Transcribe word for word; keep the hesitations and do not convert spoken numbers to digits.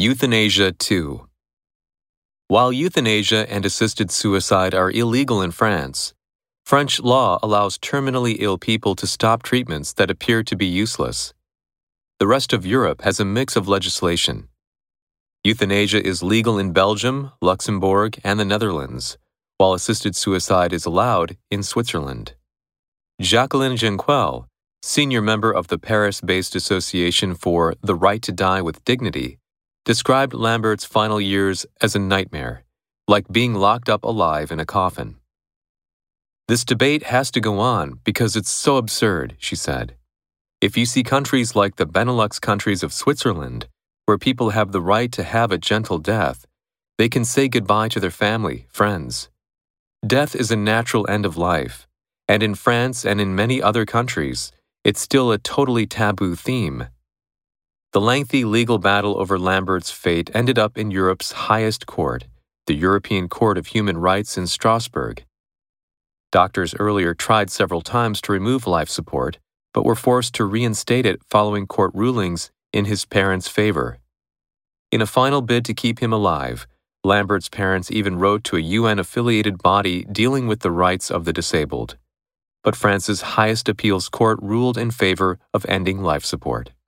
Euthanasia two. While euthanasia and assisted suicide are illegal in France, French law allows terminally ill people to stop treatments that appear to be useless. The rest of Europe has a mix of legislation. Euthanasia is legal in Belgium, Luxembourg, and the Netherlands, while assisted suicide is allowed in Switzerland. Jacqueline Genquel, senior member of the Paris-based Association for the Right to Die with Dignity, described Lambert's final years as a nightmare, like being locked up alive in a coffin. This debate has to go on because it's so absurd, she said. If you see countries like the Benelux countries of Switzerland, where people have the right to have a gentle death, they can say goodbye to their family, friends. Death is a natural end of life, and in France and in many other countries, it's still a totally taboo theme. The lengthy legal battle over Lambert's fate ended up in Europe's highest court, the European Court of Human Rights in Strasbourg. Doctors earlier tried several times to remove life support, but were forced to reinstate it following court rulings in his parents' favor. In a final bid to keep him alive, Lambert's parents even wrote to a U N-affiliated body dealing with the rights of the disabled. But France's highest appeals court ruled in favor of ending life support.